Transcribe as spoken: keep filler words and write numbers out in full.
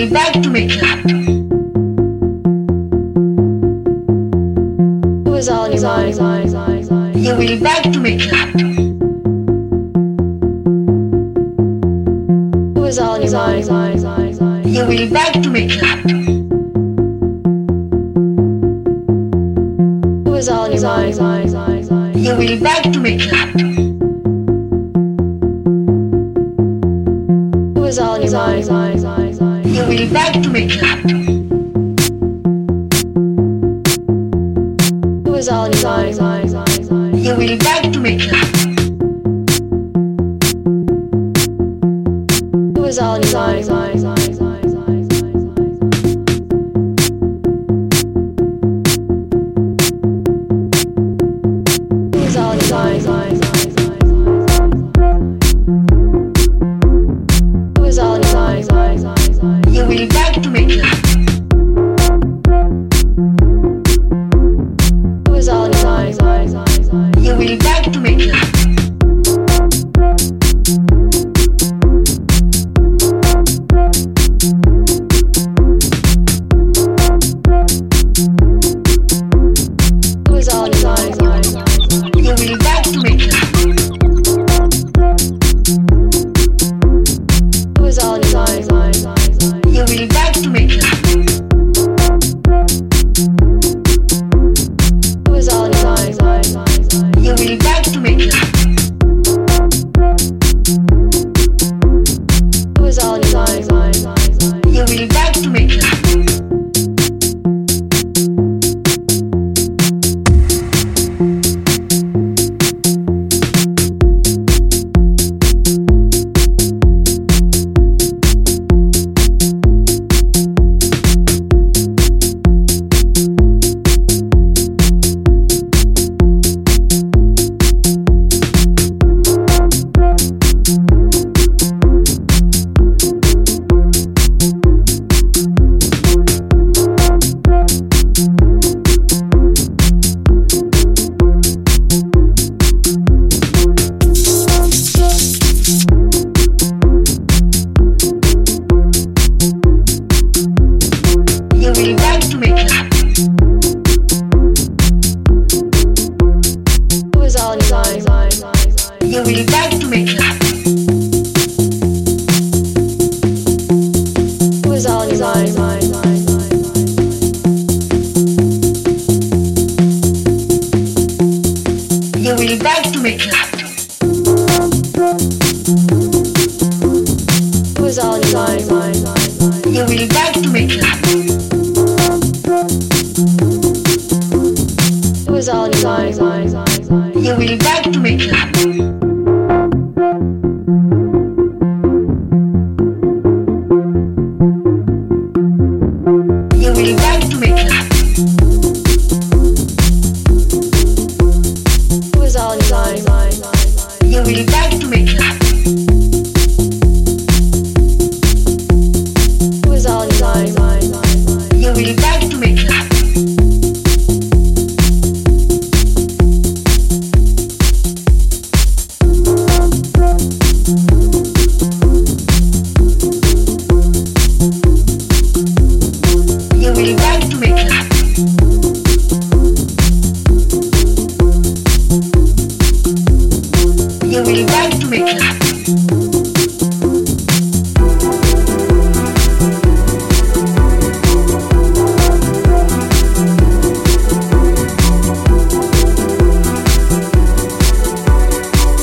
will back to make up. It was all in your mind. You will back to make up. It was all in your mind. You will back to make up. It was all in your mind. You will back to make up. It was all in your mind. You will back to make up. It was all in your mind. You will back to make up. It was all in your mind. It was all in your mind. It was all in your mind. You will back to make up. It was all in your mind. You will back to make up. It was all in your mind. You will back to make up. It was all in your mind. You will back to make up. It was all in your mind. You will back to make up. It was all in your mind. You will back to make up. You will back to make up. It was all in your mind. You will back to make up. It was all in your mind. You will back to make up. It was all in your mind. You will back to make up. It was all in your mind. You will back to make up. You will back to make up. It was all in your mind. You will back to make up. It was all in your mind. You will back to make up. You will back to make up. You will back to make up.